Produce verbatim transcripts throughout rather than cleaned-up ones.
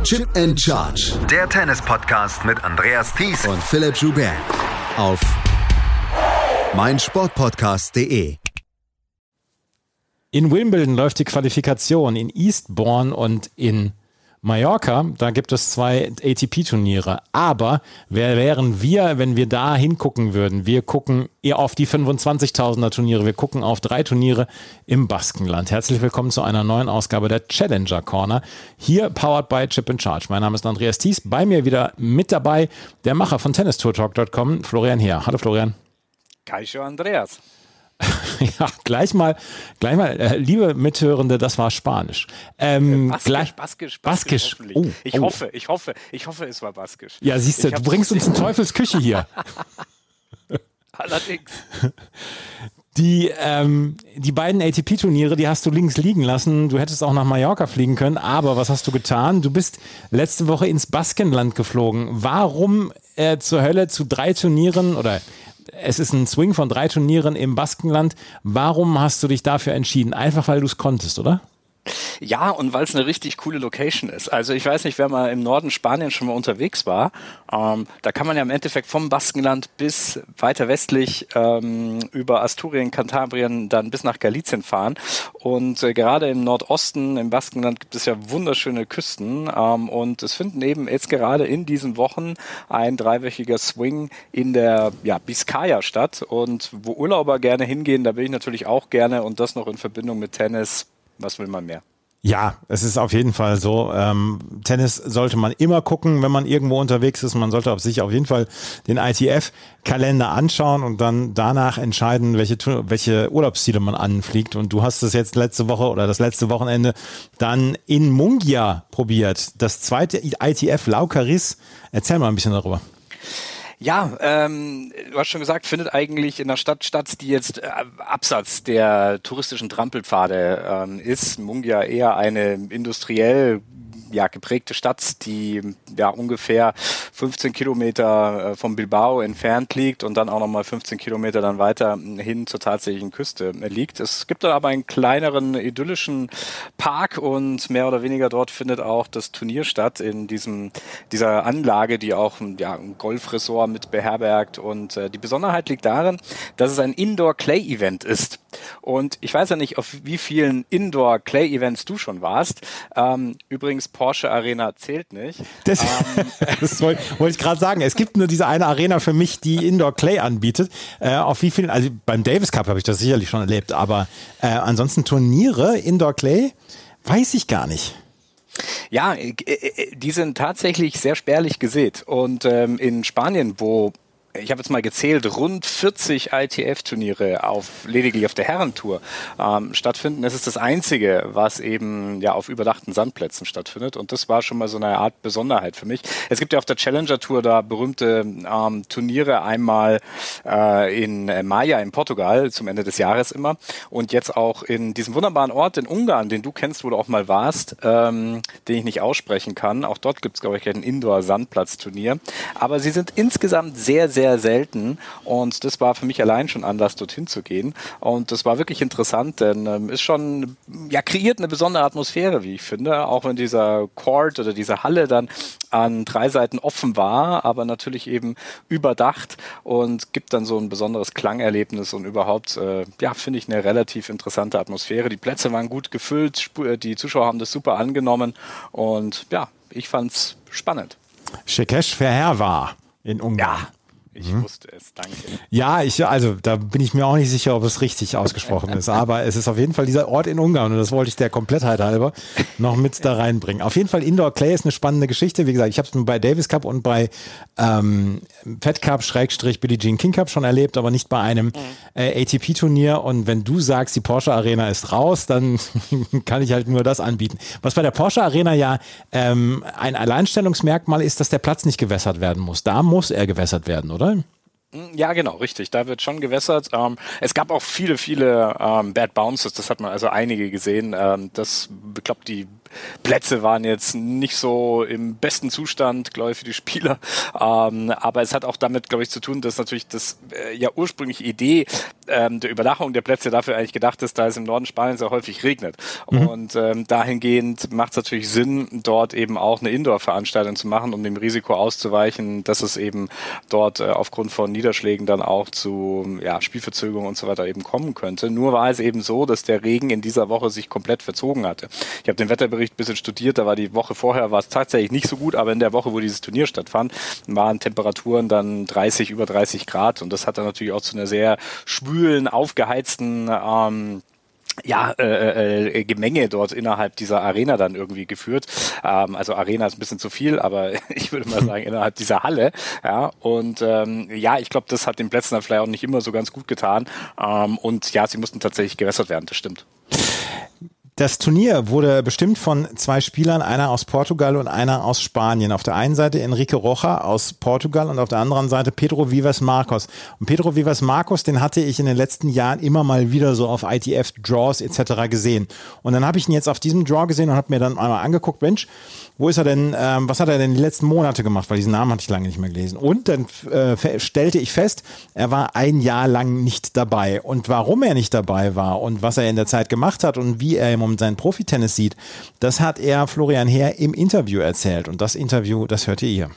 Chip and Charge. Der Tennis-Podcast mit Andreas Thies und Philipp Joubert. Auf meinsportpodcast punkt de. In Wimbledon läuft die Qualifikation, in Eastbourne und in Mallorca, da gibt es zwei A T P-Turniere. Aber wer wären wir, wenn wir da hingucken würden? Wir gucken eher auf die fünfundzwanzigtausender Turniere. Wir gucken auf drei Turniere im Baskenland. Herzlich willkommen zu einer neuen Ausgabe der Challenger Corner. Hier powered by Chip and Charge. Mein Name ist Andreas Thies. Bei mir wieder mit dabei der Macher von tennis tour talk punkt com, Florian Heer. Hallo Florian. Kaixo Andreas. Ja, gleich mal, gleich mal, äh, liebe Mithörende, das war Spanisch. Ähm, Baskisch, gleich, Baskisch, Baskisch. Baskisch Oh, ich oh. hoffe, ich hoffe, ich hoffe, es war Baskisch. Ja, siehst du, du bringst uns in Teufels Küche hier. Allerdings. Die, ähm, die beiden A T P-Turniere, die hast du links liegen lassen. Du hättest auch nach Mallorca fliegen können, aber was hast du getan? Du bist letzte Woche ins Baskenland geflogen. Warum äh, zur Hölle zu drei Turnieren oder es ist ein Swing von drei Turnieren im Baskenland. Warum hast du dich dafür entschieden? Einfach, weil du es konntest, oder? Ja, und weil es eine richtig coole Location ist. Also ich weiß nicht, wer mal im Norden Spaniens schon mal unterwegs war. Ähm, da kann man ja im Endeffekt vom Baskenland bis weiter westlich ähm, über Asturien, Kantabrien, dann bis nach Galicien fahren. Und äh, gerade im Nordosten, im Baskenland, gibt es ja wunderschöne Küsten. Ähm, und es finden eben jetzt gerade in diesen Wochen ein dreiwöchiger Swing in der ja, Bizkaia statt. Und wo Urlauber gerne hingehen, da bin ich natürlich auch gerne. Und das noch in Verbindung mit Tennis. Was will man mehr? Ja, es ist auf jeden Fall so. Ähm, Tennis sollte man immer gucken, wenn man irgendwo unterwegs ist. Man sollte auf sich auf jeden Fall den I T F-Kalender anschauen und dann danach entscheiden, welche, welche Urlaubsziele man anfliegt. Und du hast es jetzt letzte Woche oder das letzte Wochenende dann in Mungia probiert. Das zweite I T F Laucaris. Erzähl mal ein bisschen darüber. Ja, ähm, du hast schon gesagt, findet eigentlich in einer Stadt statt, die jetzt äh, abseits der touristischen Trampelpfade ähm, ist. Mungia eher eine industriell ja, geprägte Stadt, die ja ungefähr fünfzehn Kilometer äh, vom Bilbao entfernt liegt und dann auch nochmal fünfzehn Kilometer dann weiter hin zur tatsächlichen Küste äh, liegt. Es gibt dann aber einen kleineren idyllischen Park und mehr oder weniger dort findet auch das Turnier statt in diesem dieser Anlage, die auch ja, ein Golfresort mit beherbergt. Und äh, die Besonderheit liegt darin, dass es ein Indoor-Clay-Event ist. Und ich weiß ja nicht, auf wie vielen Indoor-Clay-Events du schon warst. Ähm, übrigens, Porsche Arena zählt nicht. Das, ähm, das wollte wollt ich gerade sagen. Es gibt nur diese eine Arena für mich, die Indoor Clay anbietet. Äh, auf wie vielen, also beim Davis Cup habe ich das sicherlich schon erlebt, aber äh, ansonsten Turniere, Indoor Clay, weiß ich gar nicht. Ja, die sind tatsächlich sehr spärlich gesät. Und ähm, in Spanien, wo ich habe jetzt mal gezählt, rund vierzig I T F-Turniere auf, lediglich auf der Herrentour ähm, stattfinden. Das ist das Einzige, was eben ja auf überdachten Sandplätzen stattfindet. Und das war schon mal so eine Art Besonderheit für mich. Es gibt ja auf der Challenger Tour da berühmte ähm, Turniere, einmal äh, in Maia in Portugal zum Ende des Jahres immer und jetzt auch in diesem wunderbaren Ort in Ungarn, den du kennst, wo du auch mal warst, ähm, den ich nicht aussprechen kann. Auch dort gibt es, glaube ich, ein Indoor-Sandplatz-Turnier. Aber sie sind insgesamt sehr, sehr selten und das war für mich allein schon Anlass, dorthin zu gehen und das war wirklich interessant, denn ähm, ist schon, ja, kreiert eine besondere Atmosphäre, wie ich finde, auch wenn dieser Court oder diese Halle dann an drei Seiten offen war, aber natürlich eben überdacht und gibt dann so ein besonderes Klangerlebnis und überhaupt, äh, ja, finde ich eine relativ interessante Atmosphäre. Die Plätze waren gut gefüllt, die Zuschauer haben das super angenommen und ja, ich fand's spannend. Shikesh Ferher war in Ungarn. Ja. Ich mhm. wusste es, danke. Ja, ich, also da bin ich mir auch nicht sicher, ob es richtig ausgesprochen ist, aber es ist auf jeden Fall dieser Ort in Ungarn und das wollte ich der Komplettheit halber noch mit da reinbringen. Auf jeden Fall Indoor Clay ist eine spannende Geschichte. Wie gesagt, ich habe es bei Davis Cup und bei ähm, Fed Cup Schrägstrich Billie Jean King Cup schon erlebt, aber nicht bei einem mhm. äh, A T P-Turnier. Und wenn du sagst, die Porsche Arena ist raus, dann kann ich halt nur das anbieten. Was bei der Porsche Arena ja ähm, ein Alleinstellungsmerkmal ist, dass der Platz nicht gewässert werden muss. Da muss er gewässert werden, oder? Ja, genau, richtig. Da wird schon gewässert. Ähm, es gab auch viele, viele ähm, Bad Bounces. Das hat man also einige gesehen. Ähm, das, ich glaube, die Plätze waren jetzt nicht so im besten Zustand, glaube ich, für die Spieler. Ähm, aber es hat auch damit, glaube ich, zu tun, dass natürlich das äh, ja ursprüngliche Idee ähm, der Überdachung der Plätze dafür eigentlich gedacht ist, da es im Norden Spaniens sehr häufig regnet. Mhm. Und ähm, dahingehend macht es natürlich Sinn, dort eben auch eine Indoor-Veranstaltung zu machen, um dem Risiko auszuweichen, dass es eben dort äh, aufgrund von Niederschlägen dann auch zu ja, Spielverzögerungen und so weiter eben kommen könnte. Nur war es eben so, dass der Regen in dieser Woche sich komplett verzogen hatte. Ich habe den Wetterbericht ein bisschen studiert, da war die Woche vorher war es tatsächlich nicht so gut, aber in der Woche, wo dieses Turnier stattfand, waren Temperaturen dann dreißig, über dreißig Grad und das hat dann natürlich auch zu einer sehr schwülen, aufgeheizten ähm, ja, äh, äh, Gemenge dort innerhalb dieser Arena dann irgendwie geführt. Ähm, also Arena ist ein bisschen zu viel, aber ich würde mal sagen, innerhalb dieser Halle. Ja, und ähm, ja, ich glaube, das hat den Plätzen dann vielleicht auch nicht immer so ganz gut getan. Ähm, und ja, sie mussten tatsächlich gewässert werden, das stimmt. Das Turnier wurde bestimmt von zwei Spielern, einer aus Portugal und einer aus Spanien. Auf der einen Seite Enrique Rocha aus Portugal und auf der anderen Seite Pedro Vivas Marcos. Und Pedro Vivas Marcos, den hatte ich in den letzten Jahren immer mal wieder so auf I T F-Draws et cetera gesehen. Und dann habe ich ihn jetzt auf diesem Draw gesehen und habe mir dann einmal angeguckt, Mensch, wo ist er denn, ähm, was hat er denn die letzten Monate gemacht? Weil diesen Namen hatte ich lange nicht mehr gelesen. Und dann äh, stellte ich fest, er war ein Jahr lang nicht dabei. Und warum er nicht dabei war und was er in der Zeit gemacht hat und wie er im Moment seinen Profitennis sieht, das hat er Florian Heer im Interview erzählt. Und das Interview, das hört ihr hier.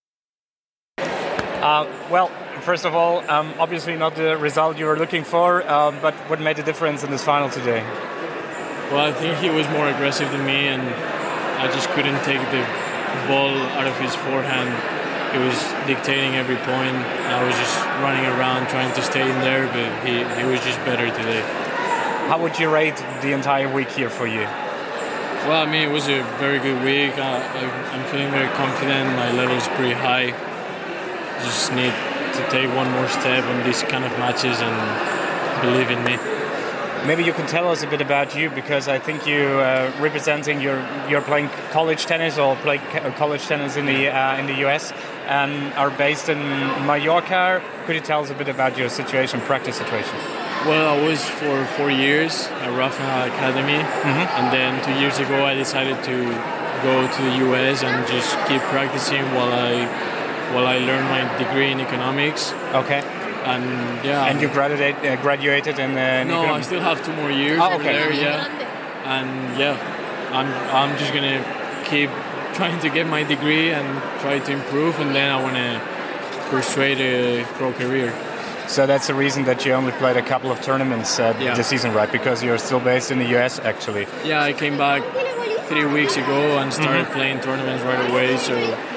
Uh, well, first of all, um, obviously not the result you were looking for, uh, but what made the difference in this final today? Well, I think he was more aggressive than me, and I just couldn't take the ball out of his forehand. He was dictating every point. I was just running around trying to stay in there, but he, he was just better today. How would you rate the entire week here for you? Well, I mean, it was a very good week. Uh, I'm feeling very confident. My level is pretty high. Just need to take one more step on these kind of matches and believe in me. Maybe you can tell us a bit about you, because I think you uh, representing your you're playing college tennis or play college tennis in the uh, in the U S and are based in Mallorca. Could you tell us a bit about your situation, practice situation? Well, I was for four years at Rafa Academy, mm-hmm. and then two years ago I decided to go to the U S and just keep practicing while I while I learn my degree in economics. Okay. And yeah. And you graduate, uh, graduated in. Uh, no, economics? I still have two more years oh, over okay. there. Yeah. And yeah, I'm I'm just gonna keep trying to get my degree and try to improve, and then I want to pursue a pro career. So that's the reason that you only played a couple of tournaments uh, yeah. this season, right? Because you're still based in the U S, actually. Yeah, I came back three weeks ago and started mm-hmm. playing tournaments right away. So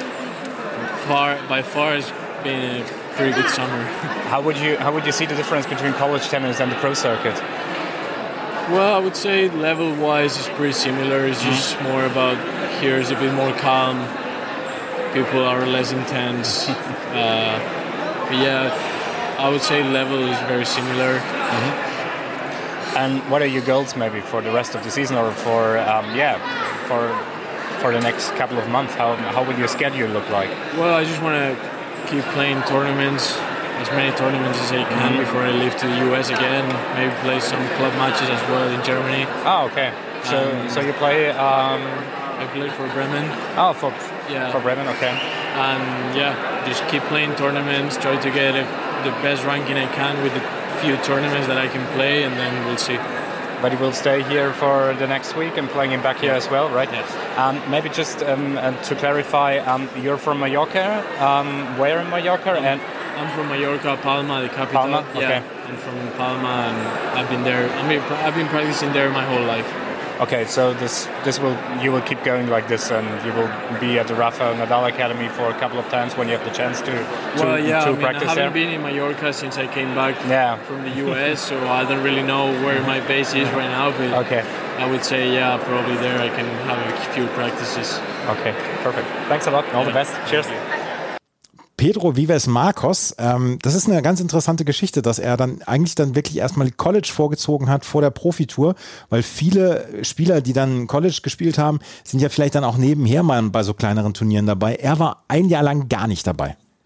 far, by far, it's been a pretty good summer. How would you How would you see the difference between college tennis and the pro circuit? Well, I would say level-wise, it's pretty similar. It's just mm-hmm. more about here is a bit more calm. People are less intense. uh, but yeah. I would say level is very similar. Mm-hmm. And what are your goals maybe for the rest of the season, or for um, yeah, for for the next couple of months? How how will your schedule look like? Well, I just want to keep playing tournaments, as many tournaments as I can mm-hmm. before I leave to the U S again. Maybe play some club matches as well in Germany. Oh, okay. So um, so you play? Um, I played for Bremen. Oh, for yeah. for Bremen, okay. And yeah, just keep playing tournaments. Try to get a the best ranking I can with the few tournaments that I can play, and then we'll see. But you will stay here for the next week and playing him back here as well, right? Yes. Um, maybe just um, uh, to clarify, um, you're from Mallorca. Um, where in Mallorca? I'm, and I'm from Mallorca, Palma, the capital. Palma, okay. Yeah, I'm from Palma, and I've been there. I mean, I've been practicing there my whole life. Okay, so this this will you will keep going like this, and you will be at the Rafa Nadal Academy for a couple of times when you have the chance to to, well, yeah, to I mean, practice I haven't there. been in Mallorca since I came back yeah. from the U S, so I don't really know where my base is right now. But okay. I would say, yeah, probably there I can have a few practices. Okay, perfect. Thanks a lot. All yeah. the best. Cheers. Pedro Vivas Marcos, ähm, das ist eine ganz interessante Geschichte, dass er dann eigentlich dann wirklich erstmal College vorgezogen hat vor der Profitour, weil viele Spieler, die dann College gespielt haben, sind ja vielleicht dann auch nebenher mal bei so kleineren Turnieren dabei. Er war ein Jahr lang gar nicht dabei.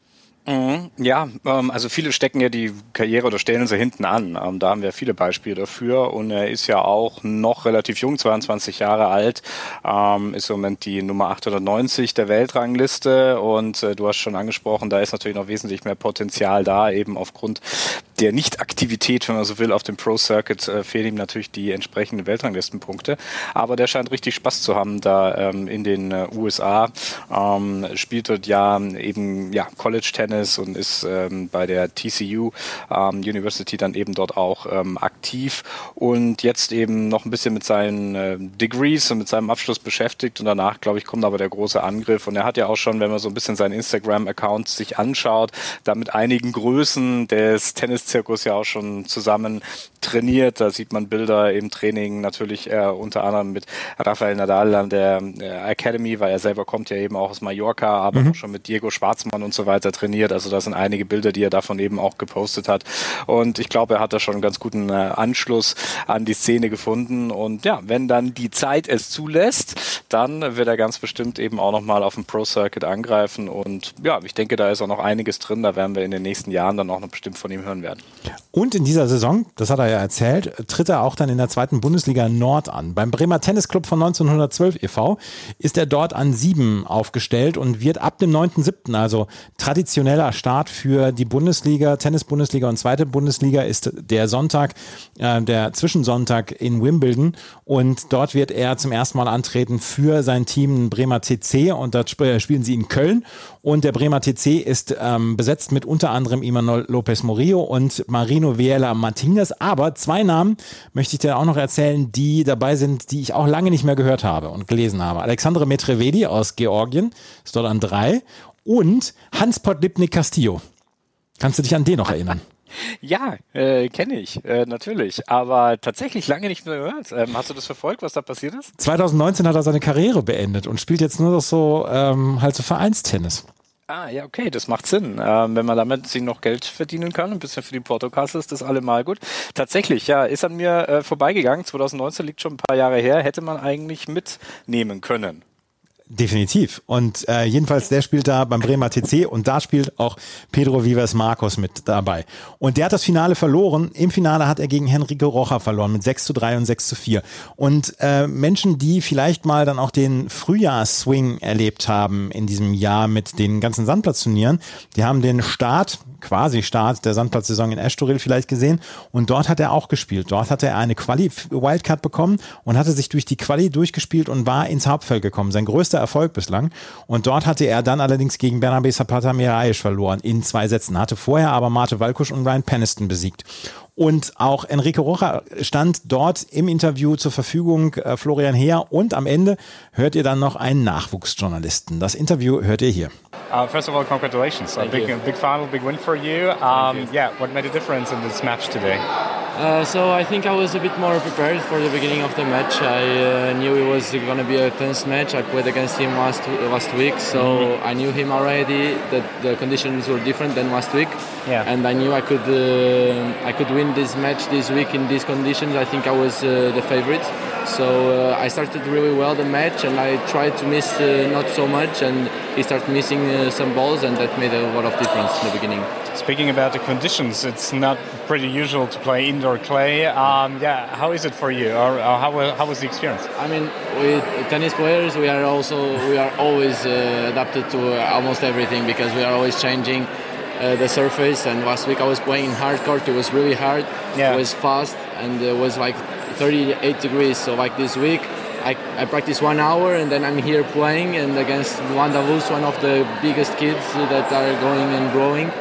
Ja, ähm, also viele stecken ja die Karriere oder stellen sie hinten an. Ähm, da haben wir viele Beispiele dafür und er ist ja auch noch relativ jung, zweiundzwanzig Jahre alt, ähm, ist im Moment die Nummer achthundertneunzig der Weltrangliste und äh, du hast schon angesprochen, da ist natürlich noch wesentlich mehr Potenzial da, eben aufgrund der Nicht-Aktivität, wenn man so will, auf dem Pro-Circuit äh, fehlen ihm natürlich die entsprechenden Weltranglistenpunkte, aber der scheint richtig Spaß zu haben da ähm, in den äh, U S A, ähm, spielt dort ja eben ja College-Tennis und ist ähm, bei der T C U ähm, University dann eben dort auch ähm, aktiv und jetzt eben noch ein bisschen mit seinen äh, Degrees und mit seinem Abschluss beschäftigt und danach, glaube ich, kommt aber der große Angriff und er hat ja auch schon, wenn man so ein bisschen seinen Instagram-Account sich anschaut, da mit einigen Größen des Tenniszirkus ja auch schon zusammen trainiert. Da sieht man Bilder im Training natürlich äh, unter anderem mit Rafael Nadal an der äh, Academy, weil er selber kommt ja eben auch aus Mallorca, aber mhm. auch schon mit Diego Schwartzmann und so weiter trainiert. Also das sind einige Bilder, die er davon eben auch gepostet hat. Und ich glaube, er hat da schon einen ganz guten äh, Anschluss an die Szene gefunden. Und ja, wenn dann die Zeit es zulässt, dann wird er ganz bestimmt eben auch nochmal auf dem Pro-Circuit angreifen. Und ja, ich denke, da ist auch noch einiges drin. Da werden wir in den nächsten Jahren dann auch noch bestimmt von ihm hören werden. Und in dieser Saison, das hat er ja erzählt, tritt er auch dann in der zweiten Bundesliga Nord an. Beim Bremer Tennisclub von neunzehnhundertzwölf e V ist er dort an sieben aufgestellt und wird ab dem neunten siebten, also traditioneller Start für die Bundesliga, Tennis-Bundesliga und zweite Bundesliga ist der Sonntag, äh, der Zwischensonntag in Wimbledon und dort wird er zum ersten Mal antreten für sein Team Bremer T C und dort sp- spielen sie in Köln und der Bremer T C ist ähm, besetzt mit unter anderem Imanol Lopez Murillo und Marino Viella Martinez, aber zwei Namen möchte ich dir auch noch erzählen, die dabei sind, die ich auch lange nicht mehr gehört habe und gelesen habe. Alexandre Medvedi aus Georgien ist dort an drei und Hans Podlipnik Castillo. Kannst du dich an den noch erinnern? Ja, äh, kenne ich, äh, natürlich. Aber tatsächlich lange nicht mehr gehört. Ähm, hast du das verfolgt, was da passiert ist? zwanzig neunzehn hat er seine Karriere beendet und spielt jetzt nur noch so ähm, halt so Vereinstennis. Ah, ja, okay, das macht Sinn. Ähm, wenn man damit sich noch Geld verdienen kann, ein bisschen für die Portokasse ist das allemal gut. Tatsächlich, ja, ist an mir äh, vorbeigegangen. zwanzig neunzehn liegt schon ein paar Jahre her, hätte man eigentlich mitnehmen können. Definitiv. Und äh, jedenfalls, der spielt da beim Bremer T C und da spielt auch Pedro Vives Marcos mit dabei. Und der hat das Finale verloren. Im Finale hat er gegen Henrique Rocha verloren mit sechs zu drei und sechs zu vier. Und äh, Menschen, die vielleicht mal dann auch den Frühjahrsswing erlebt haben in diesem Jahr mit den ganzen Sandplatzturnieren, die haben den Start, quasi Start der Sandplatzsaison in Estoril vielleicht gesehen und dort hat er auch gespielt. Dort hatte er eine Quali-Wildcard bekommen und hatte sich durch die Quali durchgespielt und war ins Hauptfeld gekommen. Sein größter Erfolg bislang. Und dort hatte er dann allerdings gegen Bernabe Zapata Miralles verloren in zwei Sätzen. Hatte vorher aber Mate Valkusch und Ryan Peniston besiegt. Und auch Henrique Rocha stand dort im Interview zur Verfügung, äh, Florian Heer. Und am Ende hört ihr dann noch einen Nachwuchsjournalisten. Das Interview hört ihr hier. Uh, first of all, congratulations. A big, big final, big win for you. Um, yeah, what made a difference in this match today? Uh, so I think I was a bit more prepared for the beginning of the match. I uh, knew it was going to be a tense match. I played against him last last week, so mm-hmm. I knew him already. That the conditions were different than last week, yeah. And I knew I could uh, I could win this match this week in these conditions. I think I was uh, the favorite. So uh, I started really well the match, and I tried to miss uh, not so much, and he started missing uh, some balls, and that made a lot of difference in the beginning. Speaking about the conditions, it's not pretty usual to play indoor clay. Um, yeah, how is it for you, or, or how how was the experience? I mean, with tennis players, we are also we are always uh, adapted to uh, almost everything because we are always changing uh, the surface. And last week I was playing in hard court. It was really hard. Yeah. It was fast, and it was like thirty-eight degrees. So like this week, I, I practice one hour and then I'm here playing and against Juan Davus, one of the biggest kids that are going and growing.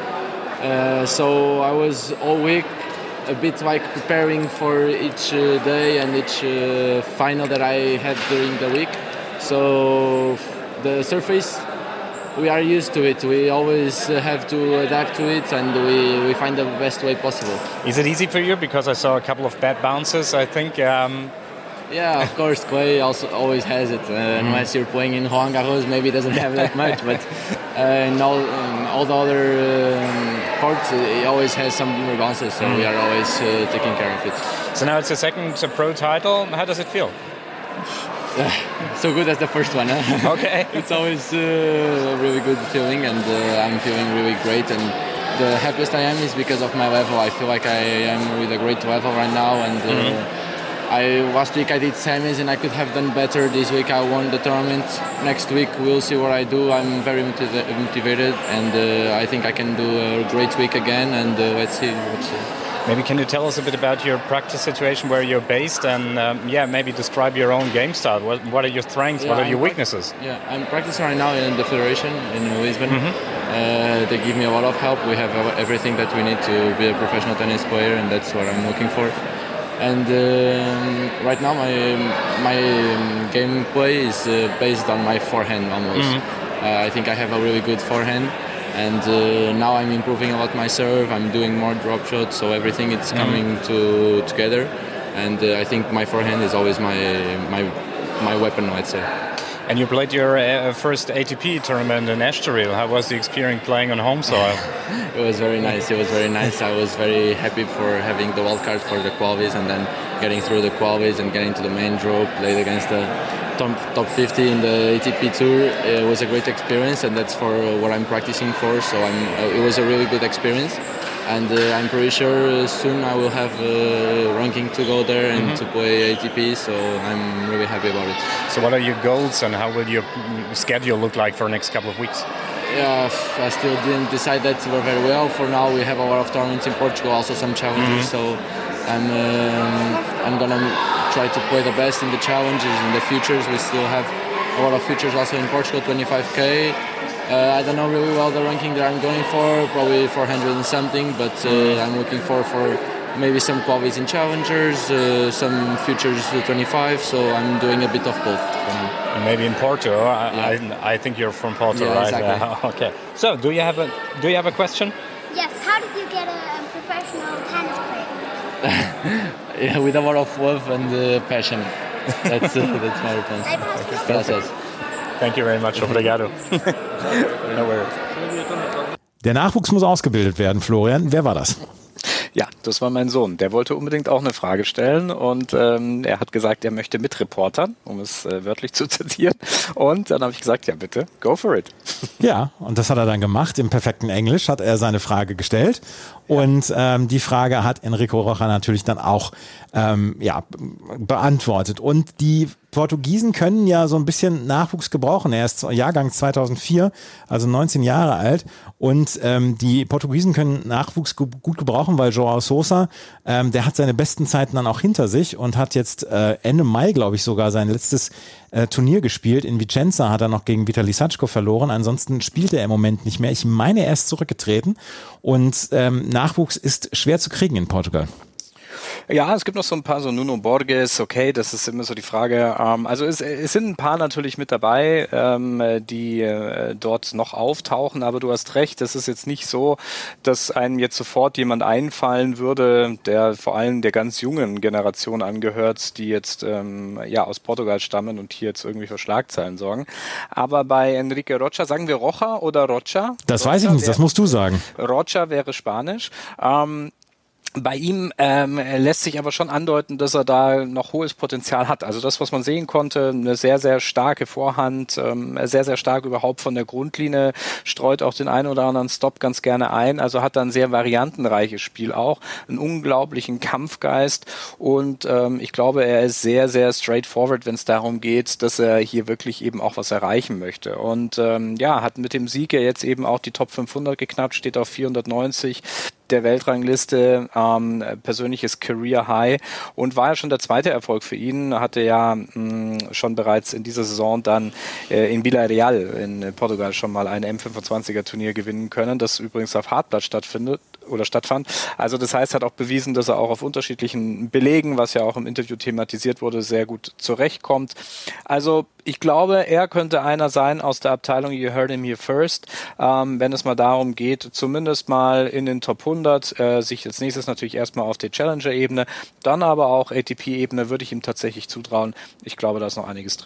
Uh, so I was all week a bit like preparing for each uh, day and each uh, final that I had during the week. So the surface, we are used to it. We always have to adapt to it, and we, we find the best way possible. Is it easy for you? Because I saw a couple of bad bounces, I think. Um... Yeah, of course, clay also always has it. Uh, mm. Unless you're playing in Roland Garros, maybe it doesn't have that much. But uh, in, all, in all the other um, courts, it always has some bounces, so mm. we are always uh, taking care of it. So now it's the second uh, pro title. How does it feel? So good as the first one. Huh? Okay. It's always uh, a really good feeling, and uh, I'm feeling really great. And the happiest I am is because of my level. I feel like I am with a great level right now, and uh, mm-hmm. I last week I did semis, and I could have done better. This week I won the tournament. Next week we'll see what I do. I'm very motiv- motivated, and uh, I think I can do a great week again. And uh, let's see. Let's see. Maybe can you tell us a bit about your practice situation, where you're based, and um, yeah, maybe describe your own game style. What, what are your strengths? Yeah, what are I'm your pra- weaknesses? Yeah, I'm practicing right now in the Federation in Lisbon. Mm-hmm. Uh, they give me a lot of help. We have everything that we need to be a professional tennis player, and that's what I'm looking for. And um, right now, my my um, gameplay is uh, based on my forehand almost. Mm-hmm. Uh, I think I have a really good forehand. And uh, now I'm improving a lot my serve. I'm doing more drop shots, so everything is coming mm. to together. And uh, I think my forehand is always my my my weapon, let's say. And you played your uh, first A T P tournament in Estoril. How was the experience playing on home soil? It was very nice. It was very nice. I was very happy for having the wild card for the qualies, and then getting through the qualies and getting to the main draw. Played against the top, top fifty in the A T P Tour. It was a great experience, and that's for what I'm practicing for. So I'm, uh, it was a really good experience, and uh, I'm pretty sure soon I will have a ranking to go there and mm-hmm. to play A T P. So I'm really happy about it. So what are your goals, and how will your schedule look like for the next couple of weeks? Yeah, I still didn't decide that very well. For now, we have a lot of tournaments in Portugal, also some challenges. Mm-hmm. So I'm um, I'm gonna try to play the best in the challenges. In the futures, we still have a lot of futures also in Portugal, twenty-five K. Uh, I don't know really well the ranking that I'm going for, probably four hundred and something, but uh, I'm looking for for maybe some qualities in challengers, uh, some futures to twenty-five. So I'm doing a bit of both. And maybe in Porto. I, Yeah. I, I think you're from Porto, Yeah, right? exactly. Uh, okay. So do you have a do you have a question? Yes, how did you get a, a professional tennis player? Yeah, with a lot of love and uh, passion. That's uh, that's my response. I passed it. Gracias. Thank you very much. Obrigado. No worries. Der Nachwuchs muss ausgebildet werden, Florian. Wer war das? Ja, das war mein Sohn. Der wollte unbedingt auch eine Frage stellen und ähm, er hat gesagt, er möchte mitreportern, um es äh, wörtlich zu zitieren. Und dann habe ich gesagt, ja bitte, go for it. Ja, und das hat er dann gemacht. Im perfekten Englisch hat er seine Frage gestellt. Und ähm, die Frage hat Enrico Rocha natürlich dann auch ähm, ja, beantwortet. Und die Portugiesen können ja so ein bisschen Nachwuchs gebrauchen. Er ist Jahrgang zweitausendvier, also neunzehn Jahre alt. Und ähm, die Portugiesen können Nachwuchs ge- gut gebrauchen, weil João Sousa, ähm, der hat seine besten Zeiten dann auch hinter sich und hat jetzt äh, Ende Mai, glaube ich, sogar sein letztes äh, Turnier gespielt. In Vicenza hat er noch gegen Vitali Sachko verloren. Ansonsten spielt er im Moment nicht mehr. Ich meine, er ist zurückgetreten. Und ähm, Nachwuchs ist schwer zu kriegen in Portugal. Ja, es gibt noch so ein paar, so Nuno Borges, okay, das ist immer so die Frage. Ähm, also es, es sind ein paar natürlich mit dabei, ähm, die äh, dort noch auftauchen, aber du hast recht, das ist jetzt nicht so, dass einem jetzt sofort jemand einfallen würde, der vor allem der ganz jungen Generation angehört, die jetzt ähm, ja aus Portugal stammen und hier jetzt irgendwie für Schlagzeilen sorgen. Aber bei Enrique Rocha, sagen wir Rocha oder Rocha? Das Rocha weiß ich nicht, das wäre, musst du sagen. Rocha wäre Spanisch. Ähm, Bei ihm ähm, lässt sich aber schon andeuten, dass er da noch hohes Potenzial hat. Also das, was man sehen konnte, eine sehr, sehr starke Vorhand, ähm, sehr, sehr stark überhaupt von der Grundlinie, streut auch den einen oder anderen Stop ganz gerne ein. Also hat da ein sehr variantenreiches Spiel auch, einen unglaublichen Kampfgeist und ähm, ich glaube, er ist sehr, sehr straightforward, wenn es darum geht, dass er hier wirklich eben auch was erreichen möchte. Und ähm, ja, hat mit dem Sieg ja jetzt eben auch die Top fünfhundert geknackt, steht auf vierhundertneunzig der Weltrangliste, ähm, persönliches Career High und war ja schon der zweite Erfolg für ihn, hatte ja mh, schon bereits in dieser Saison dann äh, in Villarreal in Portugal schon mal ein M fünfundzwanziger Turnier gewinnen können, das übrigens auf Hartplatz stattfindet oder stattfand. Also das heißt, hat auch bewiesen, dass er auch auf unterschiedlichen Belegen, was ja auch im Interview thematisiert wurde, sehr gut zurechtkommt. Also ich glaube, er könnte einer sein aus der Abteilung You Heard Him Here First, ähm, wenn es mal darum geht, zumindest mal in den Top hundert, äh, sich als nächstes natürlich erstmal auf der Challenger-Ebene, dann aber auch A T P-Ebene würde ich ihm tatsächlich zutrauen. Ich glaube, da ist noch einiges drin.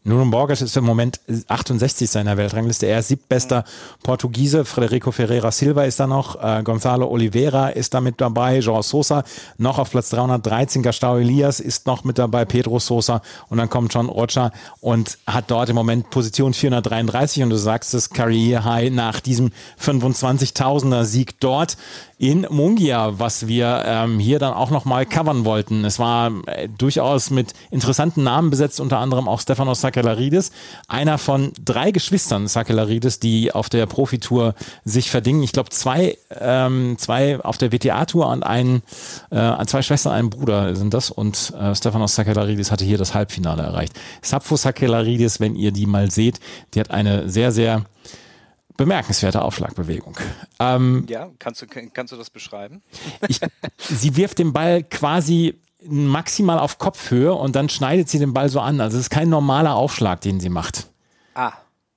Nuno Borges ist im Moment achtundsechzig seiner Weltrangliste. Er ist siebtbester Portugiese. Frederico Ferreira Silva ist da noch. Äh, Gonzalo Oliveira ist da mit dabei. João Sousa noch auf Platz dreihundertdreizehn. Gastão Elias ist noch mit dabei. Pedro Sousa. Und dann kommt John Rocha und hat dort im Moment Position vierhundertdreiunddreißig. Und du sagst es, Career High nach diesem fünfundzwanzigtausender Sieg dort in Mungia, was wir ähm, hier dann auch nochmal covern wollten. Es war äh, durchaus mit interessanten Namen besetzt, unter anderem auch Stefanos Sakellarides, einer von drei Geschwistern Sakellarides, die auf der Profitour sich verdingen. Ich glaube, zwei, ähm, zwei auf der W T A-Tour und ein, äh, zwei Schwestern, ein Bruder sind das. Und äh, Stefanos Sakellarides hatte hier das Halbfinale erreicht. Sappho Sakellarides, wenn ihr die mal seht, die hat eine sehr, sehr bemerkenswerte Aufschlagbewegung. Ähm, ja, kannst du, kannst du das beschreiben? Ich, sie wirft den Ball quasi maximal auf Kopfhöhe und dann schneidet sie den Ball so an. Also es ist kein normaler Aufschlag, den sie macht. Ah.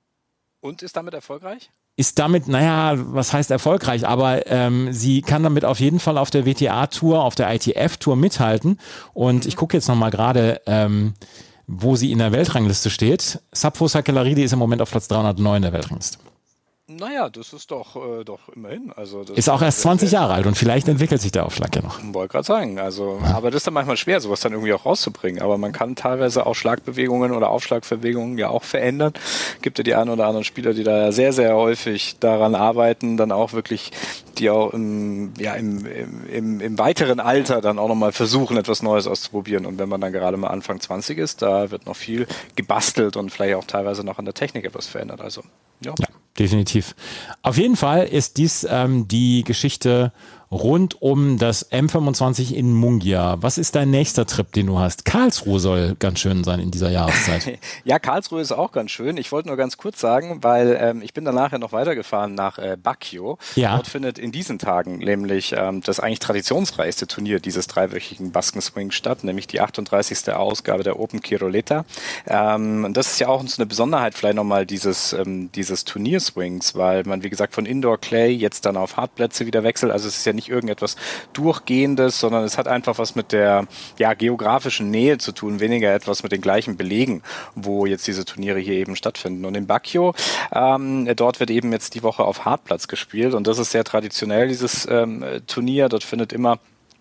Und ist damit erfolgreich? Ist damit, naja, was heißt erfolgreich, aber ähm, sie kann damit auf jeden Fall auf der W T A-Tour, auf der I T F-Tour mithalten. Und mhm. ich gucke jetzt nochmal gerade, ähm, wo sie in der Weltrangliste steht. Sappho Sakellarides ist im Moment auf Platz dreihundertneun der Weltrangliste. Naja, das ist doch, äh, doch immerhin. Also das ist auch erst zwanzig Jahre alt und vielleicht entwickelt sich der Aufschlag ja noch. Ich wollte gerade sagen, also, ja. Aber das ist dann manchmal schwer, sowas dann irgendwie auch rauszubringen. Aber man kann teilweise auch Schlagbewegungen oder Aufschlagbewegungen ja auch verändern. Gibt ja die einen oder anderen Spieler, die da ja sehr, sehr häufig daran arbeiten, dann auch wirklich, die auch im, ja, im, im, im weiteren Alter dann auch nochmal versuchen, etwas Neues auszuprobieren. Und wenn man dann gerade mal Anfang zwanzig ist, da wird noch viel gebastelt und vielleicht auch teilweise noch an der Technik etwas verändert. Also, ja. ja. Definitiv. Auf jeden Fall ist dies ähm, die Geschichte rund um das M fünfundzwanzig in Mungia. Was ist dein nächster Trip, den du hast? Karlsruhe soll ganz schön sein in dieser Jahreszeit. Ja, Karlsruhe ist auch ganz schön. Ich wollte nur ganz kurz sagen, weil ähm, ich bin dann nachher noch weitergefahren nach äh, Baguio. Ja. Dort findet in diesen Tagen nämlich ähm, das eigentlich traditionsreichste Turnier dieses dreiwöchigen Baskenswing statt, nämlich die achtunddreißigste Ausgabe der Open Quiroleta. Ähm, das ist ja auch so eine Besonderheit vielleicht nochmal dieses, ähm, dieses Turnierswings, weil man, wie gesagt, von Indoor Clay jetzt dann auf Hartplätze wieder wechselt. Also es ist ja nicht irgendetwas Durchgehendes, sondern es hat einfach was mit der ja, geografischen Nähe zu tun, weniger etwas mit den gleichen Belegen, wo jetzt diese Turniere hier eben stattfinden. Und in Baguio, ähm, dort wird eben jetzt die Woche auf Hartplatz gespielt und das ist sehr traditionell, dieses ähm, Turnier. Dort findet immer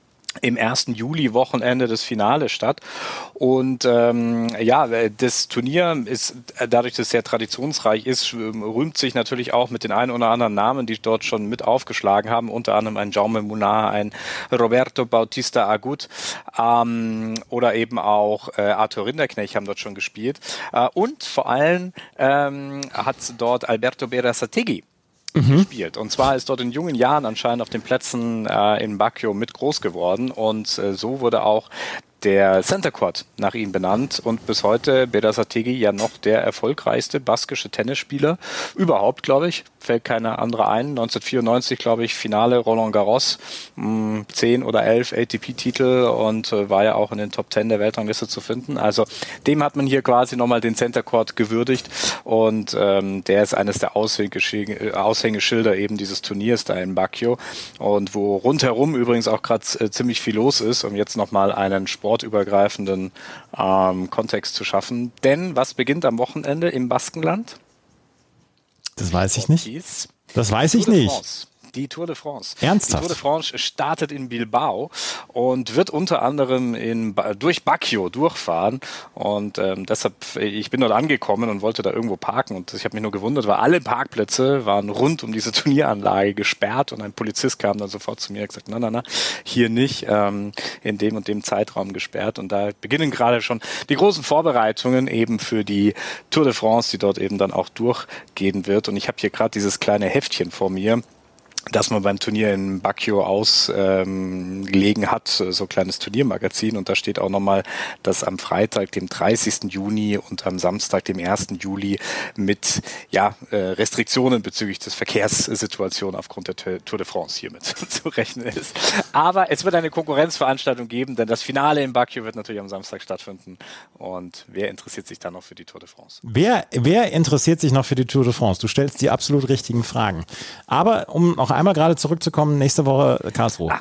im ersten Juli-Wochenende das Finale statt. Und ähm, ja, das Turnier ist, dadurch, dass es sehr traditionsreich ist, rühmt sich natürlich auch mit den einen oder anderen Namen, die dort schon mit aufgeschlagen haben, unter anderem ein Jaume Munar, ein Roberto Bautista Agut ähm, oder eben auch äh, Arthur Rinderknecht haben dort schon gespielt. Äh, und vor allem ähm, hat dort Alberto Berasategui Mhm. gespielt. Und zwar ist dort in jungen Jahren anscheinend auf den Plätzen äh, in Baguio mit groß geworden und äh, so wurde auch der Center Court nach ihm benannt und bis heute Berasategui ja noch der erfolgreichste baskische Tennisspieler überhaupt, glaube ich. Fällt keiner andere ein. neunzehnhundertvierundneunzig, glaube ich, Finale Roland Garros, mh, zehn oder elf A T P-Titel und äh, war ja auch in den Top Ten der Weltrangliste zu finden. Also dem hat man hier quasi nochmal den Center Court gewürdigt und ähm, der ist eines der Aushängeschilder, Aushängeschilder eben dieses Turniers da in Baguio und wo rundherum übrigens auch gerade äh, ziemlich viel los ist, um jetzt nochmal einen sportübergreifenden ähm, Kontext zu schaffen. Denn was beginnt am Wochenende im Baskenland? Das weiß ich nicht. Das weiß ich nicht. Die Tour de France. Ernsthaft? Die Tour de France startet in Bilbao und wird unter anderem in, durch Baguio durchfahren und ähm, deshalb, ich bin dort angekommen und wollte da irgendwo parken und ich habe mich nur gewundert, weil alle Parkplätze waren rund um diese Turnieranlage gesperrt und ein Polizist kam dann sofort zu mir und gesagt, na, na, na, hier nicht, ähm, in dem und dem Zeitraum gesperrt und da beginnen gerade schon die großen Vorbereitungen eben für die Tour de France, die dort eben dann auch durchgehen wird und ich habe hier gerade dieses kleine Heftchen vor mir, dass man beim Turnier in Baguio ausgelegen ähm, hat, so ein kleines Turniermagazin und da steht auch nochmal, dass am Freitag, dem dreißigsten Juni und am Samstag, dem ersten Juli mit ja, äh, Restriktionen bezüglich des Verkehrssituation aufgrund der Tour de France hier mit zu rechnen ist. Aber es wird eine Konkurrenzveranstaltung geben, denn das Finale in Baguio wird natürlich am Samstag stattfinden und wer interessiert sich dann noch für die Tour de France? Wer, wer interessiert sich noch für die Tour de France? Du stellst die absolut richtigen Fragen. Aber um noch einmal gerade zurückzukommen, nächste Woche Karlsruhe. Ah.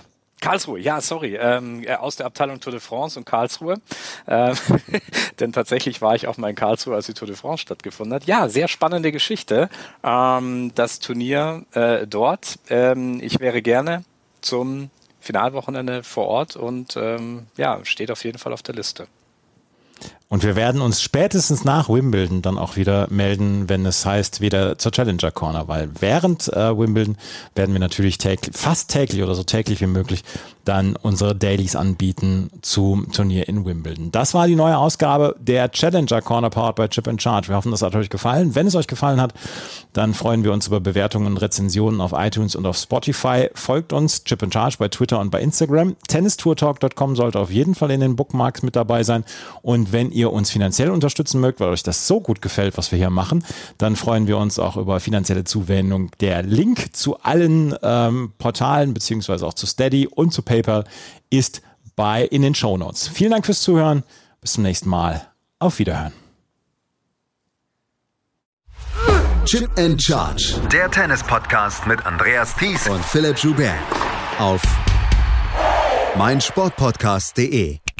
Karlsruhe, ja, sorry, ähm, aus der Abteilung Tour de France und Karlsruhe, äh, denn tatsächlich war ich auch mal in Karlsruhe, als die Tour de France stattgefunden hat. Ja, sehr spannende Geschichte, ähm, das Turnier äh, dort. Ähm, ich wäre gerne zum Finalwochenende vor Ort und ähm, ja, steht auf jeden Fall auf der Liste. Und wir werden uns spätestens nach Wimbledon dann auch wieder melden, wenn es heißt, wieder zur Challenger Corner, weil während äh, Wimbledon werden wir natürlich täglich, fast täglich oder so täglich wie möglich dann unsere Dailies anbieten zum Turnier in Wimbledon. Das war die neue Ausgabe der Challenger Corner powered by Chip and Charge. Wir hoffen, das hat euch gefallen. Wenn es euch gefallen hat, dann freuen wir uns über Bewertungen und Rezensionen auf iTunes und auf Spotify. Folgt uns, Chip and Charge, bei Twitter und bei Instagram. tennis tour talk dot com sollte auf jeden Fall in den Bookmarks mit dabei sein. Und wenn ihr uns finanziell unterstützen mögt, weil euch das so gut gefällt, was wir hier machen, dann freuen wir uns auch über finanzielle Zuwendung. Der Link zu allen ähm, Portalen beziehungsweise auch zu Steady und zu PayPal ist bei in den Shownotes. Vielen Dank fürs Zuhören. Bis zum nächsten Mal. Auf Wiederhören. Chip and Charge. Der Tennis-Podcast mit Andreas Thies Und Philipp Joubert. Auf meinsportpodcast punkt de.